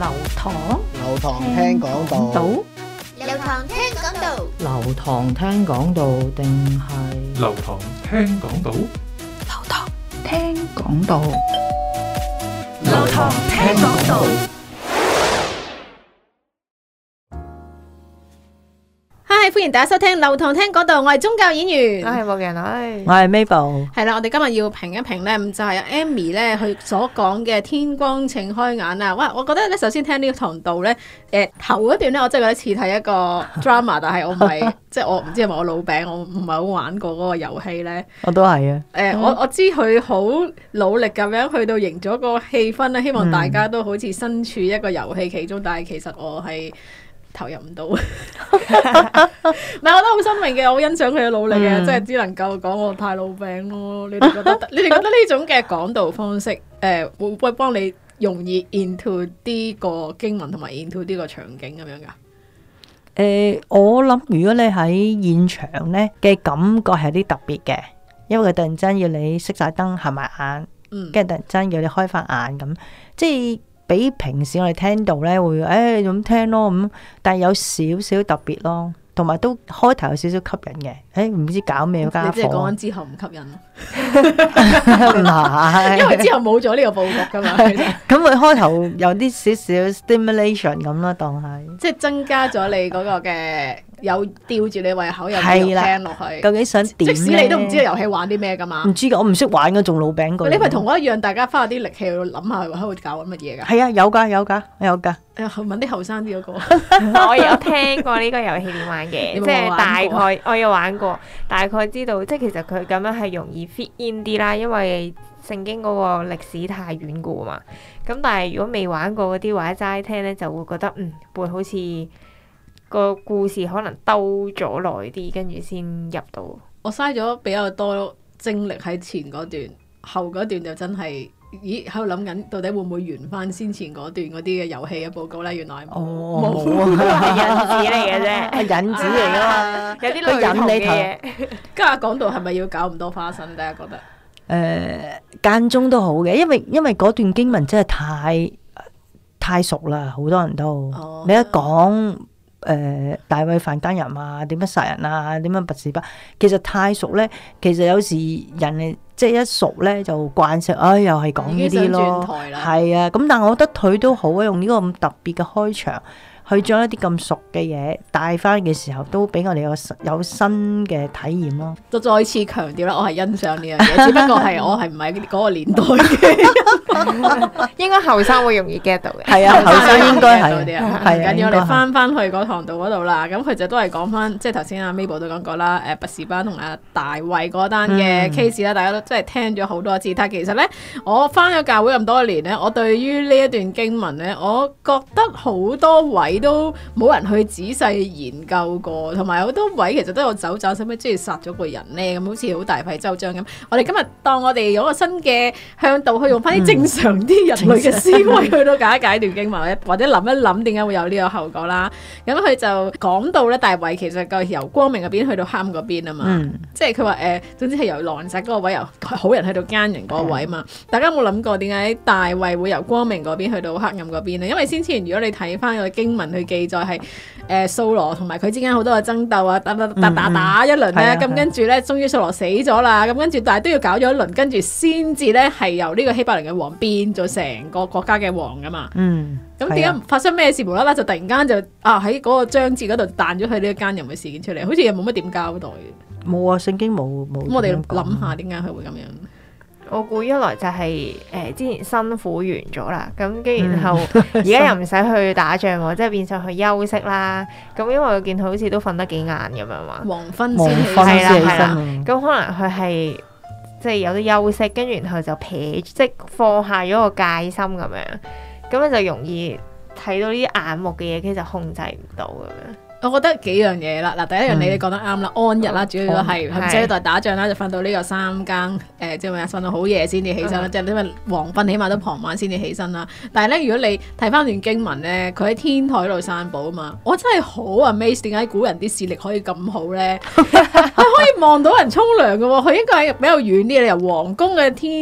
流堂聽講道， 流堂聽講道， 流堂聽講道定係流堂聽講道， 流堂聽講道， 流堂聽講道。Hi， 歡迎大家收聽流堂聽講道，我係宗教演員， 我係牧人女， 我係 Mabel。 係啦，我哋今日要評一評咧，就係 Amy 咧佢所講嘅天光請開眼啊！哇，我覺得咧，首先聽呢個堂道咧，頭一段咧，我真係覺得似睇一個 drama， 但係我唔係，即係我唔知係咪我老餅，我唔係好玩過嗰個遊戲咧。 我都係啊。 我知佢好努力咁樣去到營咗個氣氛咧，希望大家都好似身處一個遊戲其中，但係其實我係投入唔到，唔係我覺得好新穎嘅，我好欣賞佢嘅努力嘅，即係只能夠講我太老餅咯。你哋覺得呢種嘅講道方式，會唔會幫你容易 into 啲個經文同埋 into 啲個場景咁樣噶？ 我諗如果你喺現場咧嘅感覺係啲特別嘅，因為佢突然間要你熄晒燈合埋眼，跟住突然間要你開翻眼咁，即係。比平時我哋聽到咧會咁聽咯咁，但係有少少特別咯，同埋都開頭有少少吸引嘅。唔知搞咩家伙？ 你即係講緊之後唔吸引咯？唔係，因為之後冇咗呢個佈局噶嘛。 咁佢開頭有啲少少 stimulation 咁啦，當係即係增加咗你嗰個嘅。有吊住你胃口，有聽落去。究竟想點？即使你都唔知個遊戲玩啲咩噶嘛？ 唔知噶，我唔識玩噶，仲老餅過。 你咪同我一樣，大家花啲力氣去諗下，喺度搞緊乜嘢噶？ 係啊，有噶。 問啲後生啲嗰個。 我有聽過呢個遊戲點玩嘅，即係大概我有玩過，大概知道即係其實佢咁樣係容易 fit in 啲啦，因為聖經嗰個歷史太遠古嘛。咁但係如果未玩過嗰啲或者齋聽咧，就會覺得會好似。個故事可能兜咗耐啲，跟住先入到。 我嘥咗比較多精力喺前嗰段，後嗰段就真係，喺度諗緊到底會唔會完翻先前嗰段嗰啲嘅遊戲嘅報告咧？原來冇係引子嚟嘅啫， 引子嚟噶嘛， 有啲類同嘅嘢。 今日講到係咪要搞咁多花生？大家覺得？ 間中都好嘅，因為嗰段經文真係太熟啦，好多人都你一講。大衛犯奸淫啊，點樣殺人啊，點樣拔示巴，其實太熟咧。其實有時人即係一熟咧就慣性，又係講呢啲咯。係啊，咁但係我覺得佢都好啊，用呢個咁特別嘅開場。去將一啲咁熟嘅嘢帶翻嘅時候，都俾我哋有新嘅體驗咯。 就再次強調啦，我係欣賞呢樣嘢，只不過係我係唔係嗰個年代嘅， 應該後生會容易 get 到嘅。 係啊，後生應該係。 係緊要我哋翻去嗰堂道嗰度啦。咁佢就都係講翻，即係頭先阿 Mabel 都講過啦。拔示巴同阿大衛嗰單嘅 case 啦，大家都真係聽咗好多次。但係其實咧，我翻咗教會咁多年咧，我對於呢一段經文咧，我覺得好多位都冇人去仔細研究過，同埋好多位其實都有走盞，使乜即係殺咗個人咧？咁好似好大費周章咁。我哋今日當我哋有個新嘅向導，去用翻啲正常啲人類嘅思維去到解一解段經文，或者諗一諗點解會有呢個後果啦。咁佢就講到咧，大衛其實個由光明嗰邊去到黑暗嗰邊啊嘛。即係佢話總之係由狼殺嗰個位，由好人去到奸人嗰個位啊嘛。大家有冇諗過點解大衛會由光明嗰邊去到黑暗嗰邊咧？因為先前如果你睇翻個經文去記載係掃羅同埋佢之間好多嘅爭鬥啊，打一輪咧，咁跟住咧，終於掃羅死咗啦，咁跟住但係都要搞咗一輪，跟住先至咧係由呢個希伯崙嘅王變咗成個國家嘅王噶嘛。咁點解發生咩事無啦啦就突然間就喺嗰個章節嗰度彈咗佢呢個奸淫嘅事件出嚟，好似又冇乜點交代。冇啊，聖經冇。咁我哋諗下點解佢會咁樣？ 我估一來就係之前辛苦完咗啦，咁跟然後而家又唔使去打仗喎，即係變相去休息啦。咁因為我見佢好似都瞓得幾晏咁樣嘛， 黃昏先起身。咁可能佢係即係有啲休息，跟住然後就即係放下咗個戒心咁樣，咁你就容易睇到呢啲眼目嘅嘢，其實控制唔到咁樣。 我覺得幾樣嘢啦，嗱，第一樣你講得啱啦，安逸啦，主要都係唔使喺度打仗啦，就瞓到呢個3更，即係咪瞓到好夜先至起身啦，即係因為黃昏起碼都傍晚先至起身啦。但係咧，如果你睇翻段經文咧，佢喺天台度散步啊嘛，我真係好 amaze，點解古人啲視力可以咁好咧？佢可以望到人沖涼嘅喎，佢應該係比較遠啲，你由皇宮嘅天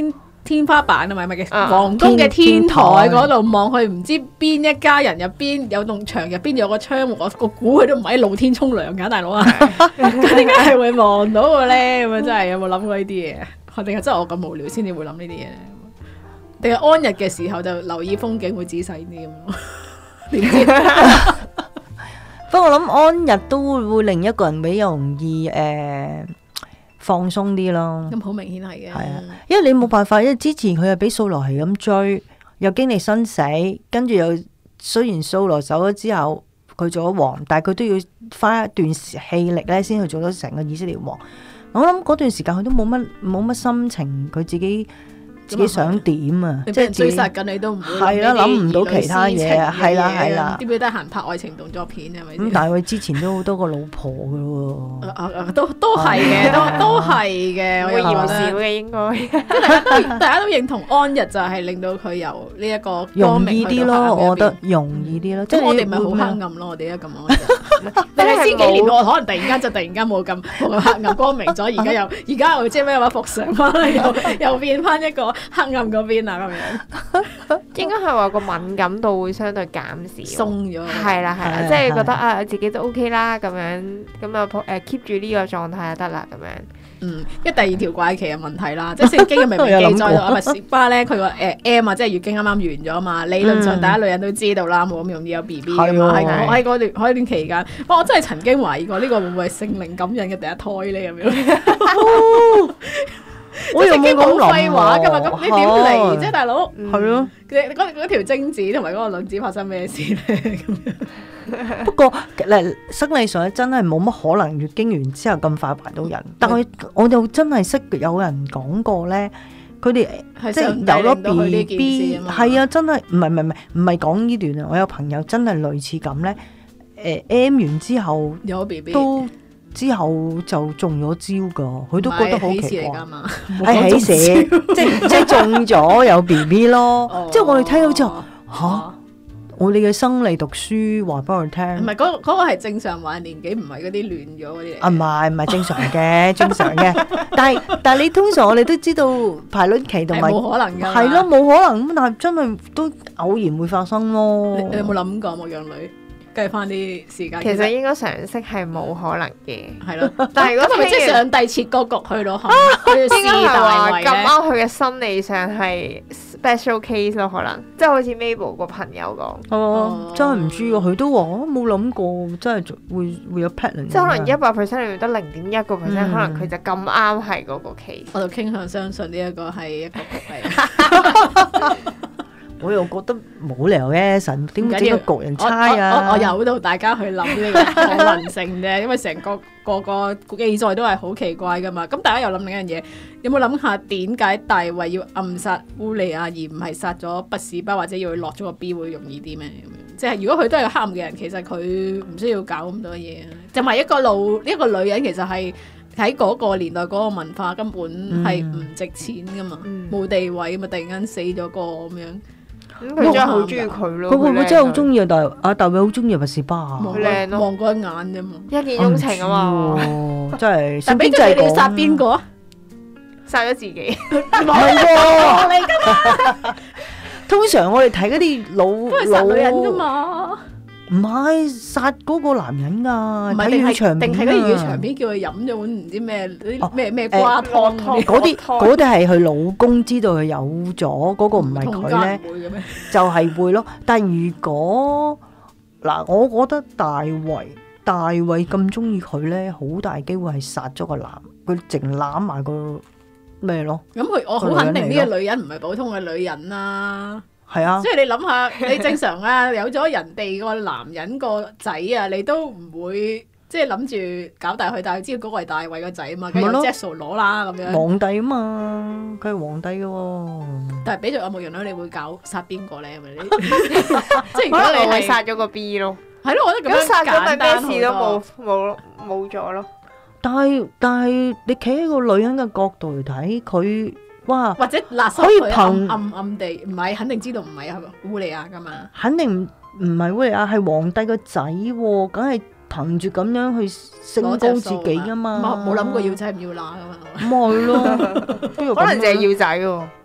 天花板啊，咪嘅皇宮嘅天台嗰度望去，唔知邊一家人入邊有棟牆入邊有個窗戶，我估佢都唔喺露天沖涼㗎，大佬啊！咁點解係會望到嘅咧？咁樣真係有冇諗過呢啲嘢？定係真係我咁無聊先至會諗呢啲嘢咧？定係安逸嘅時候就留意風景會仔細啲咁咯？點知？ 不過我諗安逸都會令一個人比較容易放鬆啲咯。 咁好明顯係嘅。係啊， 因為你冇辦法，因為之前佢又俾掃羅係咁追，又經歷生死，跟住又雖然掃羅走咗之後佢做咗王，但係佢都要花一段氣力咧先去做到成個以色列王。我諗嗰段時間佢都冇乜心情，佢自己想點啊？ 即係追殺緊你都唔會係啦，諗唔到其他嘢啊，係啦係啦。 點會得閒拍愛情動作片係咪？ 咁但係佢之前都好多個老婆噶喎。 都係嘅，都係嘅， 會嫌少嘅應該。 大家都認同安逸就係令到佢由呢一個容易啲咯，我覺得容易啲咯。 即係我哋咪好黑暗咯，我哋而家咁安逸。但係先幾年我可能突然間冇咁黑暗光明咗，而家又即係咩話復常翻嚟，又變翻一個黑暗嗰邊啊咁樣。 應該係話個敏感度會相對減少， 鬆咗。 係啦，即係覺得自己都 OK 啦咁樣，咁啊keep 住呢個狀態就得啦咁樣。 因為第二條怪奇嘅問題啦，即係聖經明明記載到拔示巴咧，佢個M 啊，即係月經啱啱完咗嘛，理論上大家女人都知道啦，冇咁容易有 BB 噶嘛，喺嗰段期間，我真係曾經懷疑過呢個會唔會係聖靈感孕嘅第一胎咧咁樣。我又冇講廢話噶嘛，咁你點嚟啫，大佬？ 係咯， 嗰條精子同埋嗰個卵子發生咩事咧？咁樣。 不過生理上真係冇乜可能月經完之後咁快懷到人，但係我又真係識有人講過咧，佢哋即係有咗 BB， 係啊，真係唔係講呢段啊，我有朋友真係類似咁咧，M 完之後有 BB 都。之後就中咗招噶，佢都覺得好奇怪， 係喜事，即係中咗有 BB 咯。即係我哋聽到之後，吓，我哋嘅生理讀書話俾我聽， 唔係嗰個係正常懷年紀，唔係嗰啲亂咗嗰啲。 啊，唔係正常嘅，正常嘅。但係你通常我哋都知道排卵期同埋冇可能㗎， 係咯，冇可能咁，但係真係都偶然會發生咯。 你有冇諗過牧羊女？計翻啲時間， 其實應該常識係冇可能嘅， 係咯。但係如果即係上帝設個局去到， 應該係話咁啱佢嘅心理上係 special case 咯，可能即係好似 Mabel 個朋友講， 真係唔知喎，佢都話冇諗過，真係會有 pattern。 即係可能100% 裏面得0.1%，可能佢就咁啱係嗰個 case。 我就傾向相信呢一個係一個局嚟。 我又覺得冇理由嘅，神點會整個局人猜啊？ 我由到大家去諗呢個可能性啫，因為成個記載都係好奇怪噶嘛。咁大家又諗另一樣嘢，有冇諗下點解大衛要暗殺烏利亞而唔係殺咗拔示巴，或者要佢落咗個 B 會容易啲咩？咁樣即係如果佢都係個黑暗嘅人，其實佢唔需要搞咁多嘢。就係一個女人，其實係喺嗰個年代嗰個文化根本係唔值錢噶嘛，冇地位嘛，突然間死咗個咁樣。 佢真係好中意佢咯， 佢會唔會真係好中意啊？大衛好中意拔示巴啊， 靚咯，望過一眼啫嘛， 一見鍾情啊嘛， 真係。 但俾住你哋殺邊個啊？ 殺咗自己， 唔係喎，嚟噶嘛？通常我哋睇嗰啲老都係殺女人噶嘛。 唔係殺嗰個男人㗎，睇粵語長片啊！ 定係嗰啲粵語長片叫佢飲咗碗唔知咩咩瓜湯， 嗰啲係佢老公知道佢有咗，嗰個唔係佢咧，就係會咯。但係如果嗱，我覺得大衛咁中意佢咧，好大機會係殺咗個男，佢淨攬埋個咩咯？ 咁我好肯定呢個女人唔係普通嘅女人啦。 係啊， 即係你諗下，你正常啊，有咗人哋個男人個仔啊，你都唔會即係諗住搞大佢，但係知道嗰個係大衛個仔啊嘛，梗係有 Jesse 攞啦咁樣。皇帝啊嘛，佢係皇帝嘅喎。但係俾咗阿牧羊女，你會搞殺邊個咧？係咪？即係如果你係殺咗個 B 咯，係咯，我覺得咁樣殺咗咪咩事都冇咗咯。但係你企喺個女人嘅角度嚟睇，佢。哇！或者勒索佢暗地唔係肯定知道唔係烏利亞噶嘛？肯定唔係烏利亞，係皇帝個仔喎，梗係憑住咁樣去升高自己噶嘛？冇諗過要仔唔要乸噶嘛？咁係咯，可能淨係要仔喎。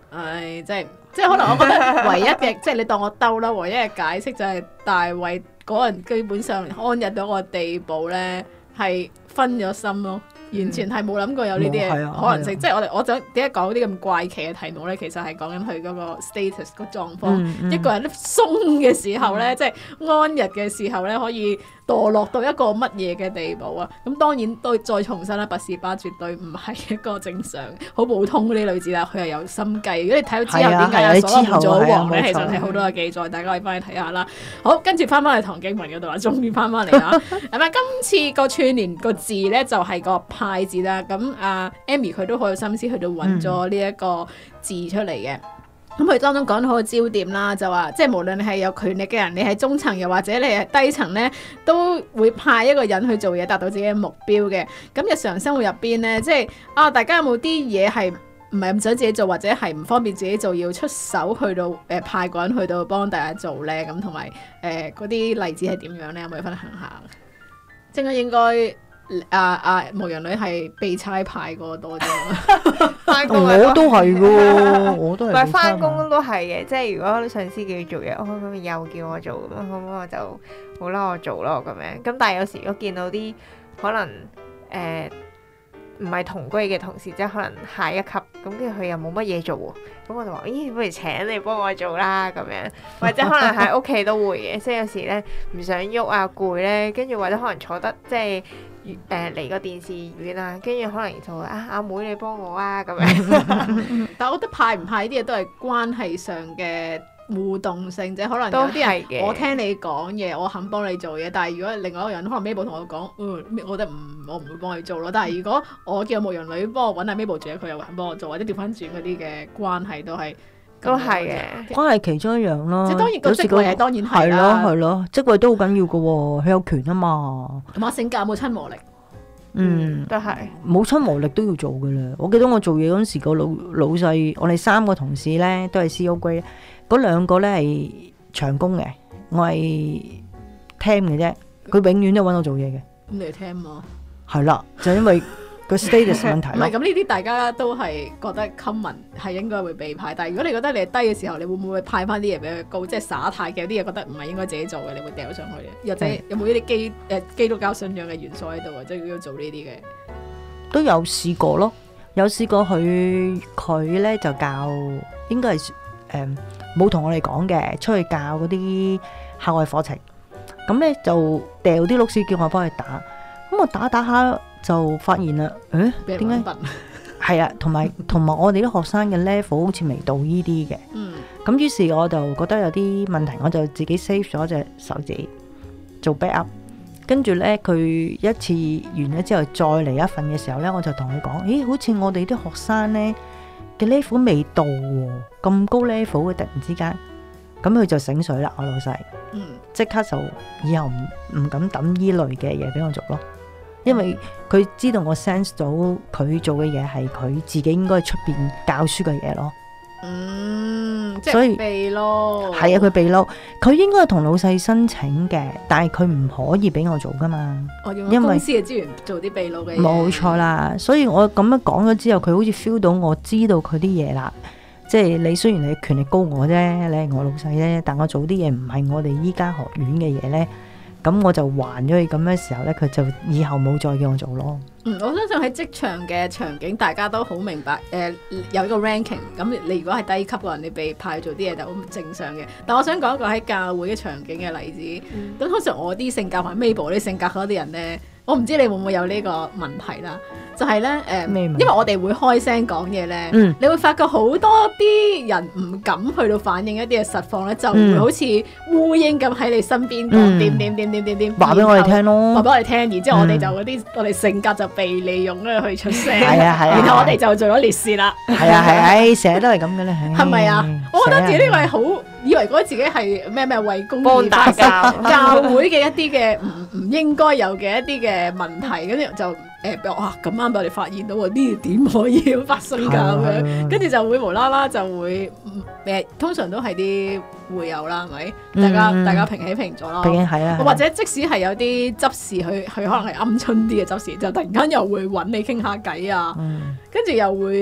即係可能我覺得唯一嘅即係你當我兜啦，唯一嘅解釋就係大衛嗰人基本上安逸到個地步咧，係分咗心咯。完全係冇諗過有呢啲嘅可能性，即係我想點解講啲咁怪奇嘅題目咧？其實係講緊佢嗰個 status 個狀況，一個人鬆嘅時候咧，即係安逸嘅時候咧，可以墮落到一個乜嘢嘅地步啊？咁當然都再重申啦，拔士巴絕對唔係一個正常好普通嗰啲女子啦，佢係有心計。如果你睇到之後點解所羅門做咗王咧，其實係好多嘅記載，大家可以翻去睇下啦。好，跟住翻返去唐經文嗰度啦，終於翻返嚟啦。係咪今次個串聯個字咧就係個派字啦？咁阿 Amy 佢都好有心思去到揾咗呢一個字出嚟嘅。咁佢當中講到好個焦點啦，就話即係無論你係有權力嘅人，你係中層又或者你係低層咧，都會派一個人去做嘢，達到自己嘅目標嘅。咁日常生活入邊咧，即係大家有冇啲嘢係唔係咁想自己做，或者係唔方便自己做，要出手去到派個人去到幫大家做咧？咁同埋嗰啲例子係點樣咧？有冇分享下？應該。牧羊女係被差派過多啲， 我都係喎，我都係。 但係翻工都係嘅，即係如果上司叫你做嘢，咁又叫我做咁，咁我就好啦，我做咯咁樣。咁但係有時如果見到啲可能唔係同居嘅同事，即係可能下一級，咁跟住佢又冇乜嘢做喎，咁我就話：咦，不如請你幫我做啦咁樣，或者可能喺屋企都會嘅，即係有時咧唔想喐啊，攰咧，跟住或者可能坐得即係。離個電視遠啊，跟住可能就阿妹你幫我啊咁樣。 但係我覺得派唔派呢啲嘢都係關係上嘅互動性啫，可能有啲人我聽你講嘢，我肯幫你做嘢，但係如果另外一個人可能 Mabel 同我講，我覺得我唔會幫你做咯。但係如果我叫牧羊女幫我揾下 Mabel 做嘢，佢又肯幫我做，或者調翻轉嗰啲嘅關係都係嘅， 關係其中一樣咯。 即係當然個職位係當然係啦， 係咯，職位都好緊要噶喎，佢有權啊嘛。 同埋性格有冇親和力？ 都係冇親和力都要做噶啦。我記得我做嘢嗰陣時，個老細，我哋3個同事咧都係 CO grade，嗰2個咧係長工嘅，我係 temp 嘅啫。佢永遠都揾我做嘢嘅。咁你係 temp 嘛？ 係啦，就因為個 status 問題。 唔係咁呢啲，大家都係覺得 common 係應該會被派。但係如果你覺得你係低嘅時候，你會唔會派翻啲嘢比佢高？即係耍太嘅有啲嘢覺得唔係應該自己做嘅，你會掉上去嘅。或者有冇呢啲基督教信仰嘅元素喺度啊？即係要做呢啲嘅。都有試過咯， 有試過佢咧就教，應該係冇同我哋講嘅，出去教嗰啲校外課程。咁咧就掉啲碌屎叫我幫佢打，咁我打下就發現啦，點解？係啊，同埋我哋啲學生嘅 level 好似未到呢啲嘅。咁於是我就覺得有啲問題，我就自己 save 咗隻手指做 backup。跟住咧，佢一次完咗之後，再嚟一份嘅時候咧，我就同佢講：咦，好似我哋啲學生咧嘅 level 未到喎，咁高 level 嘅突然之間，咁佢就醒水啦，我老細，即刻就以後唔敢抌依類嘅嘢俾我做咯，因為佢知道我 sense 到佢做嘅嘢係佢自己應該出邊教書嘅嘢咯。即係秘撈，係啊，佢秘撈，佢應該係同老細申請嘅，但係佢唔可以俾我做噶嘛。因為公司嘅資源做啲秘撈嘅嘢，冇錯啦。所以我咁樣講咗之後，佢好似 feel 到我知道佢啲嘢啦。即係你雖然你權力高我啫，你係我老細啫，但我做啲嘢唔係我哋依家學院嘅嘢咧，咁我就還咗佢咁嘅時候咧，佢就以後冇再叫我做咯。我相信喺職場嘅場景，大家都好明白。有一個 ranking， 咁你如果係低級嘅人，你被派做啲嘢就好正常嘅。但我想講一個喺教會嘅場景嘅例子。咁通常我啲性格同 Mabel 啲性格嗰啲人咧，我唔知你會唔會有呢個問題啦。就係咧，因為我哋會開聲講嘢咧，你會發覺好多啲人唔敢去到反映一啲嘅實況咧，就會好似烏蠅咁喺你身邊講點，話俾我哋聽咯，話俾我哋聽，然之後我哋就嗰啲我哋性格就被利用咧去出聲，然後我哋就做咗烈士啦。係啊，成日都係咁嘅咧，係咪啊？我覺得自己呢個係好以為覺得自己係咩為公義發聲，教會嘅一啲嘅唔應該有嘅一啲嘅問題，跟住就。哇！咁啱俾我哋發現到喎，呢啲點可以發生㗎咁樣，跟住就會無啦啦就會通常都係啲會友啦，係咪？大家平起平坐啦，或者即使係有啲執事，佢可能係鵪鶉啲嘅執事，就突然間又會揾你傾下偈啊，跟住又會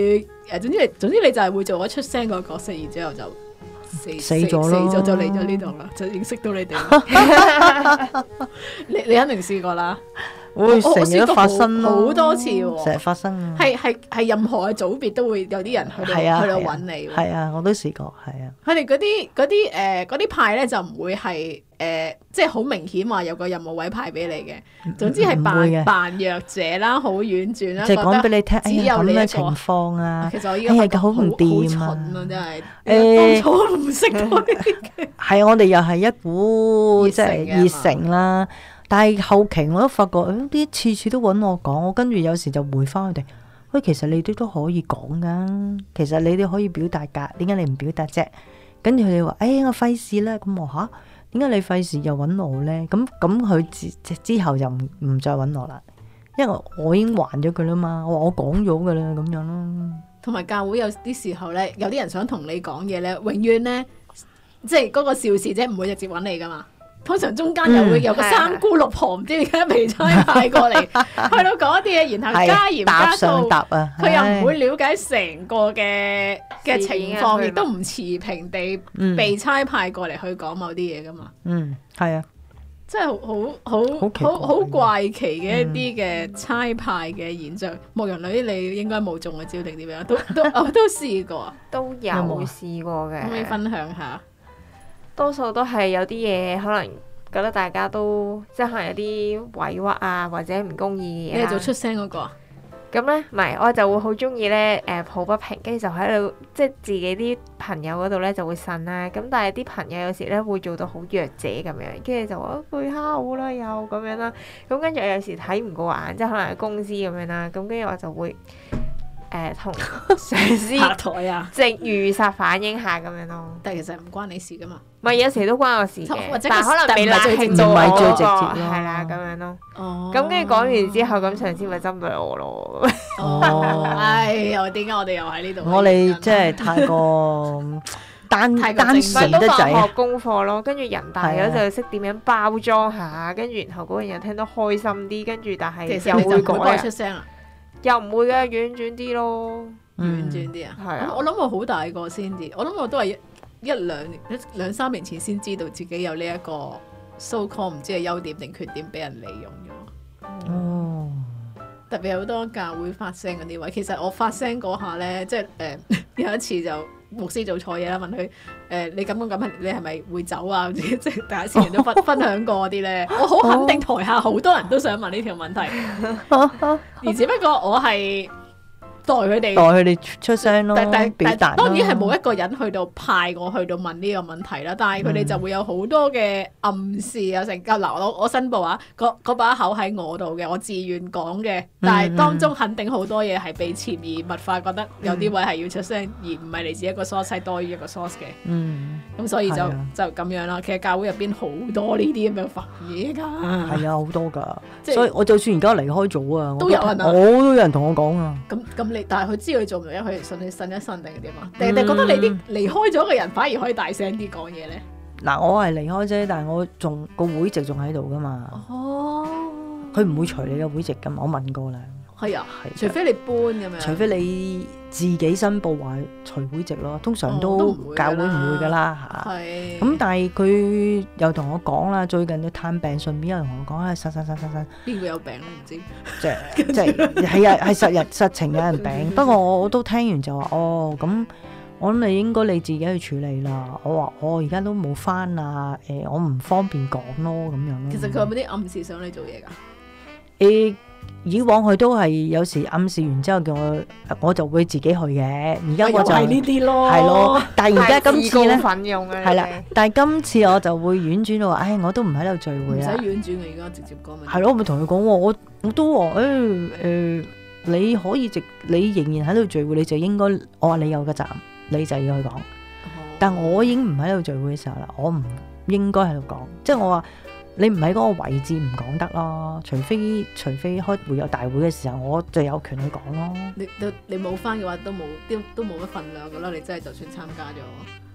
總之你就係會做咗出聲個角色，然之後就死咗咯，就嚟咗呢度啦，就認識到你哋。你肯定試過啦。 會成日都發生好多次喎， 成日發生。 係任何嘅組別都會有啲人去到揾你。 係啊，我都試過，係啊。 佢哋嗰啲派咧就唔會係即係好明顯話有個任務位派俾你嘅。總之係扮弱者啦，好婉轉啦， 就講俾你聽， 只有你一個情況啊。 其實我依家好唔掂啊， 真係。當初都唔識嗰啲嘅。 係我哋又係一股即係熱誠啦。但係後期我都發覺，啲次次都揾我講，我跟住有時就回翻佢哋，喂，其實你哋都可以講噶，其實你哋可以表達噶，點解你唔表達啫？跟住佢哋話，我費事啦，咁我嚇，點解你費事又揾我咧？咁佢之後就唔再揾我啦，因為我已經還咗佢啦嘛，我講咗噶啦，咁樣咯。 同埋教會有啲時候咧，有啲人想同你講嘢咧，永遠咧，即係嗰個肇事者唔會直接揾你噶嘛。通常中間又會有個三姑六婆，唔知點解被差派過嚟，去到講一啲嘢，然後加鹽加醋，佢又唔會了解成個嘅情況，亦都唔持平地被差派過嚟去講某啲嘢噶嘛。 係啊， 即係好怪奇嘅一啲嘅差派嘅現象。牧羊女你應該冇中嘅招定點樣？都試過， 都有試過嘅。 可唔可以分享下？ 多數都係有啲嘢，可能覺得大家都即係可能有啲委屈啊，或者唔公義嘅嘢。 你係做出聲嗰個啊？ 咁咧，唔係，我就會好中意咧，抱不平，跟住就喺度，即係自己啲朋友嗰度咧就會呻啦。咁但係啲朋友有時咧會做到好弱者咁樣，跟住就話佢蝦我啦，又咁樣啦。咁跟住我有時睇唔過眼，即係可能係公司咁樣啦。咁跟住我就會同上司下台啊， 即係預殺反映下咁樣咯。 但係其實唔關你事噶嘛。 唔係有時都關我事嘅，但係可能未拉最直接係啦咁樣咯。咁跟住講完之後，咁上司咪針對我咯。 又點解我哋又喺呢度？ 我哋即係太過單純得滯， 學功課咯。跟住人大咗就識點樣包裝下，跟住然後嗰個人又聽得開心啲，跟住但係又會改出聲啊。 又唔會嘅，婉轉啲咯， 婉轉啲啊！ 係啊， 我諗我好大個先至，我諗我都係兩三年前先知道自己有呢一個 so call 唔知係優點定缺點俾人利用咗。特別好多教會發聲嗰啲位，其實我發聲嗰下咧，即係有一次就牧師做錯嘢啦，問佢你咁樣你係咪會走啊？即係大家之前都分享過嗰啲咧，我好肯定台下好多人都想問呢條問題，而只不過我係代佢哋出聲咯，表達咯。 當然係冇一個人去到派我去到問呢個問題啦，但係佢哋就會有好多嘅暗示啊，成嗱我申報啊，嗰把口喺我度嘅，我自願講嘅，但係當中肯定好多嘢係被潛移默化，覺得有啲位係要出聲，而唔係嚟自一個 source 係多於一個 source 嘅。咁所以就咁樣啦。其實教會入邊好多呢啲咁樣煩嘢㗎。 係啊，好多㗎。所以我就算而家離開咗啊， 都有人啊， 我都有人同我講啊。 咁但係佢知道佢做唔到，佢信你信一信定係點啊？定係覺得你啲離開咗嘅人反而可以大聲啲講嘢咧？ 嗱，我係離開啫，但係我仲個會籍仲喺度噶嘛。佢唔會除你嘅會籍噶嘛？我問過啦。係啊，除非你搬咁樣。除非你自己申報話除會籍咯，通常都教會唔會噶啦嚇。係。咁但係佢又同我講啦，最近要探病，順便又同我講啊，實。邊個有病都唔知。即係係啊，係實情有人病。不過我都聽完就話咁。我諗你應該你自己去處理啦。我話我而家都冇返啊，我唔方便講咯，咁樣咯。其實佢有冇啲暗示想你做嘢㗎？以往佢都係有時暗示完之後叫我就會自己去嘅。而家我就係呢啲咯，係咯。但係而家今次咧，係啦。但係今次我就會婉轉到話，我都唔喺度聚會啦。唔使婉轉嘅，而家直接講咪。係咯，我咪同佢講我都話你可以你仍然喺度聚會，你就應該我話你有個責任。你就要去講，但我已經唔喺度聚會嘅時候啦，我唔應該喺度講，即係我話你唔喺嗰個位置唔講得咯，除非開會有大會嘅時候，我就有權去講咯。你冇返嘅話都冇乜份量噶啦，你真係就算參加咗。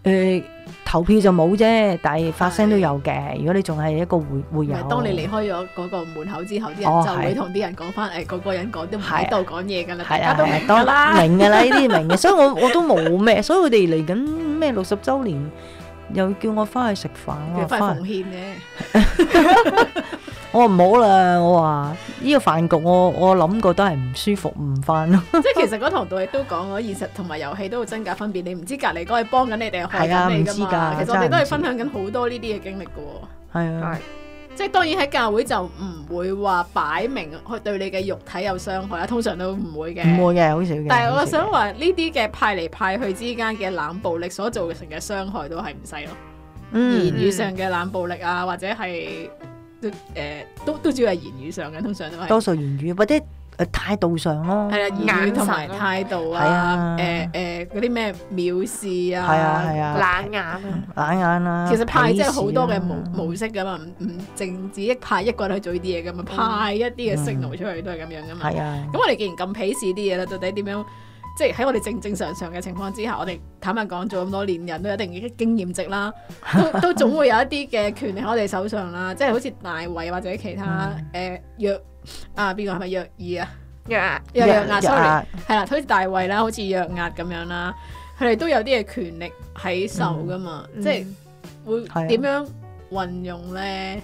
投票就冇啫，但係發聲都有嘅。如果你仲係一個會友， 當你離開咗嗰個門口之後，啲人就會同啲人講翻，個個人講都唔喺度講嘢㗎啦，大家都明㗎啦， 明㗎啦，呢啲明嘅，所以我都冇咩，所以佢哋嚟緊咩60週年，又叫我翻去食飯， 我翻去奉獻嘅。 我唔好啦，我話呢個飯局我諗過都係唔舒服，唔翻咯。 即係其實嗰堂道亦都講咗現實同埋遊戲都有真假分別，你唔知隔離嗰係幫緊你定係害緊你㗎嘛。其實我哋都係分享緊好多呢啲嘅經歷㗎喎。 係啊， 即係當然喺教會就唔會話擺明去對你嘅肉體有傷害啦，通常都唔會嘅。唔會嘅，好少嘅。 但係我想話呢啲嘅派嚟派去之間嘅冷暴力所造成嘅傷害都係唔細咯。言語上嘅冷暴力啊，或者係。都主要係言語上嘅，通常都係多數言語或者態度上咯。 係啊，言語同埋態度啊，嗰啲咩藐視啊，冷眼啊， 冷眼啊。 其實派即係好多嘅模式噶嘛，唔淨止派一個人去做呢啲嘢噶嘛，派一啲嘅 signal 出去都係咁樣噶嘛。係啊。咁我哋既然咁鄙視啲嘢啦，到底點樣？即係喺我哋正常嘅情況之下，我哋坦白講做咁多年人都有一定嘅經驗值啦，都總會有一啲嘅權力喺我哋手上啦。即係好似大衛或者其他約邊個係咪約珥啊？約押 sorry 係啦，好似大衛啦，好似約押咁樣啦，佢哋都有啲嘅權力喺手噶嘛，即係會點樣運用咧？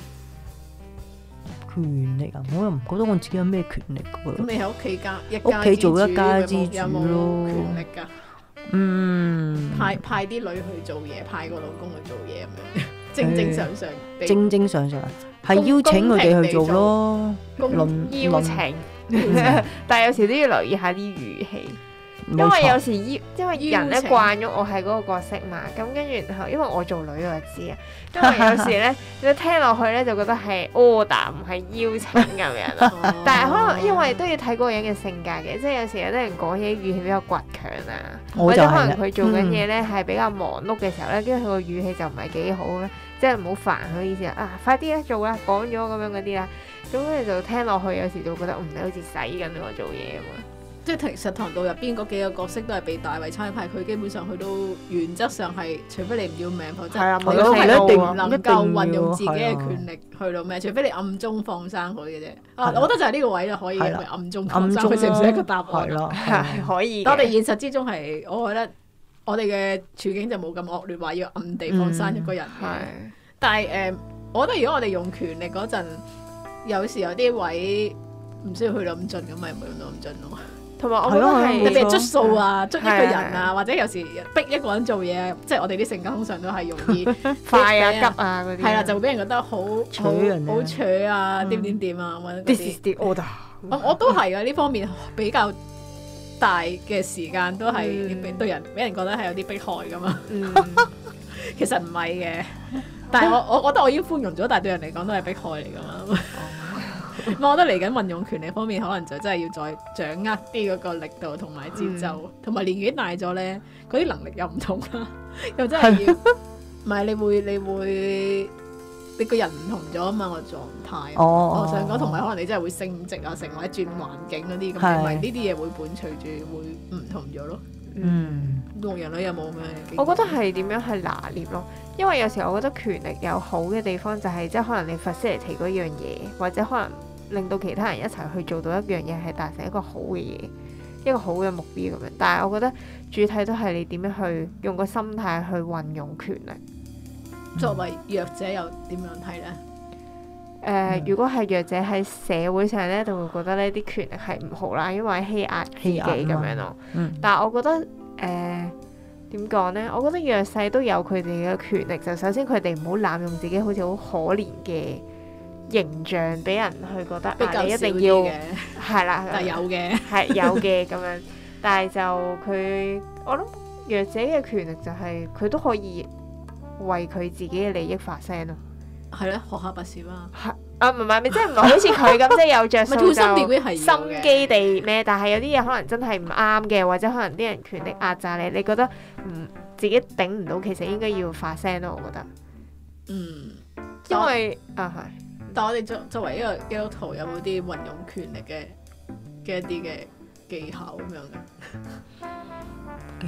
權力啊！我又唔覺得我自己有咩權力㗎。 咁你喺屋企屋企做一家之主有冇權力㗎？派啲女去做嘢，派個老公去做嘢咁樣，正常係邀請佢哋去做咯， 邀請。但係有時都要留意下啲語氣。因為有時因為人咧慣咗我係嗰個角色嘛，咁跟住然後因為我做女我就知啊，因為有時咧你聽落去咧就覺得係 order 唔係邀請咁樣咯，但係可能因為都要睇嗰個人嘅性格嘅，即係有時有啲人講嘢語氣比較倔強啊，或者可能佢做緊嘢咧係比較忙碌嘅時候咧，跟住佢個語氣就唔係幾好咧，即係唔好煩佢意思啊，快啲啦做啦，講咗咁樣嗰啲啦，咁跟住就聽落去有時就覺得你好似使緊我做嘢咁啊。 即係其實堂道入邊嗰幾個角色都係被大衛差派，佢基本上佢都原則上係，除非你唔要命，否則你都係一定唔能夠運用自己嘅權力去到咩？除非你暗中放生佢嘅啫。我覺得就係呢個位就可以暗中放生佢，算唔算一個答案咯？ 係可以。 但我哋現實之中係，我覺得我哋嘅處境就冇咁惡劣，話要暗地放生一個人。但係我覺得如果我哋用權力嗰陣，有時有啲位唔需要去到咁盡，咁咪唔會用到咁盡咯。 同埋我覺得係特別係捉數啊，捉一個人啊，或者有時逼一個人做嘢，即係我哋啲性格通常都係容易快啊、急啊嗰啲。係啦，就會俾人覺得好扯啊，點啊咁樣。 This is the order。 我都係啊，呢方面比較大嘅時間都係對人俾人覺得係有啲迫害噶嘛。其實唔係嘅，但係我覺得我已經寬容咗，但係對人嚟講都係迫害嚟噶嘛。我覺得嚟緊運用權力方面，可能就真係要再掌握啲嗰個力度同埋節奏，同埋年紀大咗咧，嗰啲能力又唔同啦，又真係要，唔係你會你個人唔同咗啊嘛個狀態。我想講，同埋可能你真係會升職啊，成為轉環境嗰啲咁，咪呢啲嘢會伴隨住會唔同咗咯。同人類有冇咩？ 我覺得係點樣去拿捏咯，因為有時候我覺得權力有好嘅地方就係即係可能你 facilitate嗰樣嘢，或者可能令到其他人一齊去做到一樣嘢，係達成一個好嘅嘢，一個好嘅目標咁樣。但係我覺得主體都係你點樣去用個心態去運用權力。 作為弱者又點樣睇呢？ 如果係弱者喺社會上咧，就會覺得呢啲權力係唔好啦，因為欺壓自己咁樣咯。但係我覺得點講呢？我覺得弱勢都有佢哋嘅權力，就首先佢哋唔好濫用自己好似好可憐嘅形象，俾人去覺得你一定要係啦， 但係有嘅係有嘅咁樣。但係就我諗弱者嘅權力就係佢都可以為佢自己嘅利益發聲咯。 係咧，學下拔士啦。 唔係，即係唔係好似佢咁，即係有着數就心機地咩？但係有啲嘢可能真係唔啱嘅，或者可能啲人權力壓榨你，你覺得自己頂唔到，其實應該要發聲咯。我覺得，因為係。 但我哋作為一個基督徒，有冇啲運用權力嘅一啲嘅技巧咁樣嘅？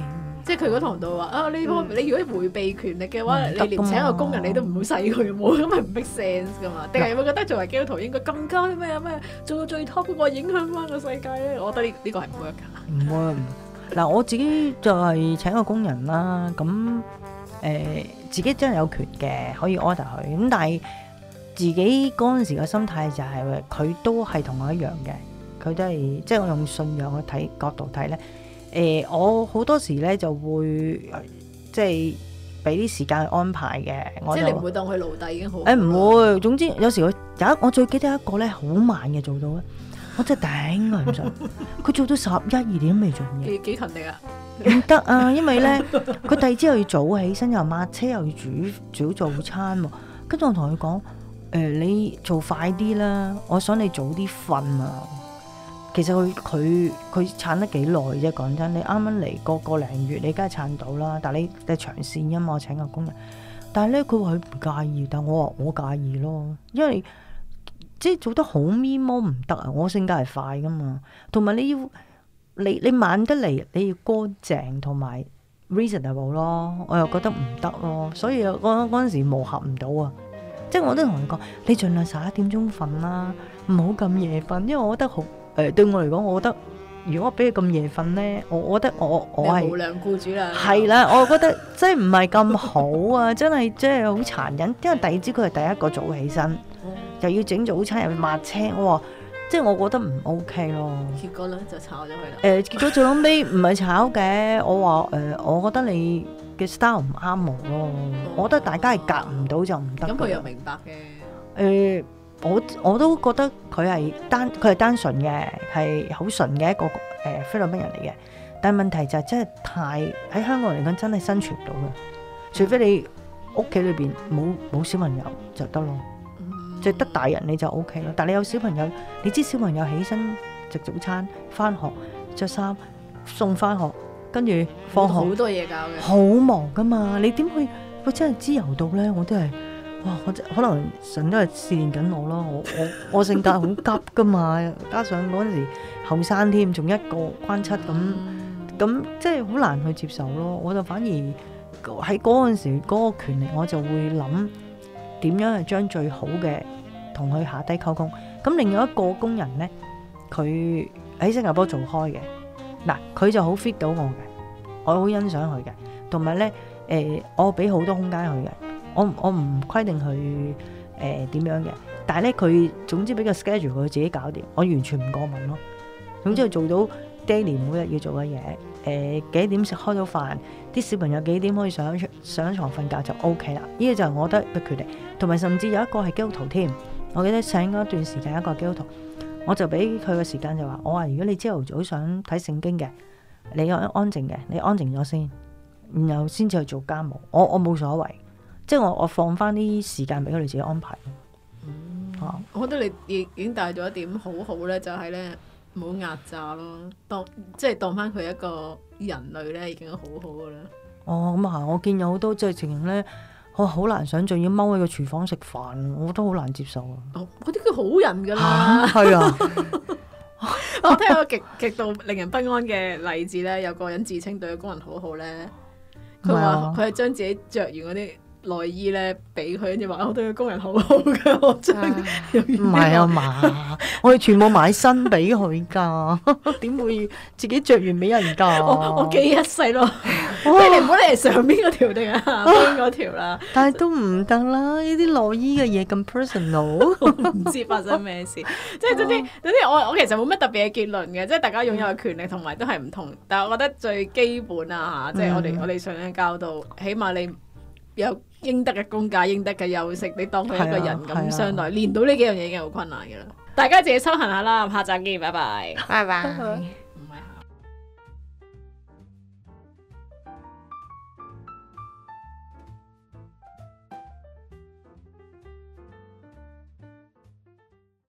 即係佢嗰堂度話啊，你如果迴避權力嘅話，你連請個工人你都唔好使佢，冇咁咪唔 make sense 噶嘛？定係會覺得作為基督徒應該更加咩做到最 top 嗰個影響翻個世界咧？我覺得呢個係唔 work 㗎。唔 work。嗱，我自己就係請個工人啦，咁自己真係有權嘅，可以 order 佢。咁但係自己嗰陣時嘅心態就係佢都係同我一樣嘅，佢都係即係我用信仰去睇角度睇咧。我好多時咧就會即係俾啲時間去安排嘅。即係你唔會當佢奴隸已經好。 唔會，總之有時我最記得一個咧好慢嘅做到咧，我真係頂佢唔順。佢做到11、12點都未做嘢。幾勤力啊！ 唔得啊，因為咧佢第二朝又要早起身，又抹車，又要煮早餐喎。跟住我同佢講你做快啲啦，我想你早啲瞓啊。其實佢撐得幾耐啫，講真，你啱啱嚟個零月，你梗係撐到啦。但係你長線㗎嘛，我請個工人。但係咧，佢話佢唔介意，但我話我介意咯，因為即係做得好咪摸唔得啊！我性格係快㗎嘛，同埋你慢得嚟，你要乾淨同埋 reasonable 咯，我又覺得唔得咯，所以嗰陣時磨合唔到啊。即係我都同佢講，你盡量11點鐘瞓啦，唔好咁夜瞓，因為我覺得好。對我嚟講，我覺得如果俾佢咁夜瞓咧，我覺得我係無良僱主啦。 係啦，我覺得真係唔係咁好啊！真係好殘忍，因為第二朝佢係第一個早起身，又要整早餐，又要抹車，即係我覺得唔 OK 咯。 結果咧就炒咗佢啦。 結果最後尾唔係炒嘅，我話我覺得你嘅 style 唔啱我咯。我覺得大家係夾唔到就唔得。 咁佢又明白嘅。 我都覺得佢係單純嘅，係好純嘅一個菲律賓人嚟嘅。但係問題就係真係喺香港嚟講真係生存唔到嘅，除非你屋企裏邊冇小朋友就得咯，即係得大人你就 OK 咯。但係你有小朋友，你知小朋友起身食早餐、翻學、着衫、送翻學，跟住放學好多嘢搞嘅， 好忙噶嘛。你點會真係自由到咧？我都係。哇！可能神都係試驗緊我咯，我性格好急噶嘛，加上嗰陣時後生添，仲一個關七咁，即係好難去接受咯。我就反而喺嗰陣時嗰個權力，我就會諗點樣係將最好嘅同佢下低溝通。咁另外一個工人咧，佢喺新加坡做開嘅，嗱佢就好 fit 到我嘅，我好欣賞佢嘅，同埋咧我俾好多空間佢嘅。我唔規定佢點樣嘅，但係咧佢總之俾個 schedule 佢自己搞掂，我完全唔過問咯。總之佢做到 daily 每日要做嘅嘢，幾點食開到飯，啲小朋友幾點可以上床瞓覺就 OK 啦。呢個就係我覺得嘅決定，同埋甚至有一個係基督徒添。我記得請嗰段時間一個基督徒，我就俾佢嘅時間就話，我話如果你朝頭早想睇聖經嘅，你安靜嘅，你安靜咗先，然後先至去做家務。我冇所謂。即係我放翻啲時間俾佢哋自己安排。 我覺得你已經帶咗一點好好咧，就係咧冇壓榨咯，當翻佢一個人類咧，已經好好噶啦。 咁啊，我見有好多即係情形咧，我好難想像要踎喺個廚房食飯，我都好難接受啊。 嗰啲叫好人噶啦。 係啊。 我聽過極度令人不安嘅例子咧，有個人自稱對個工人好好咧，佢話佢係將自己着完嗰啲內衣咧俾佢，跟住話我對個工人好好噶，我將唔係啊嘛，我哋全部買新俾佢噶，點會自己着完俾人噶？ 我記一世咯，你唔好理係上邊嗰條定係下邊嗰條啦。 但係都唔得啦，呢啲內衣嘅嘢咁 personal， 我唔知發生咩事。即係總之我其實冇乜特別嘅結論嘅，即係大家擁有嘅權利同埋都係唔同。但係我覺得最基本啊嚇，即係我哋上緊教導，起碼你有應得嘅工價、應得嘅休息，你當佢一個人咁相待，練到呢幾樣嘢已經好困難嘅啦。大家自己修行下啦，下集見，拜拜， 拜拜。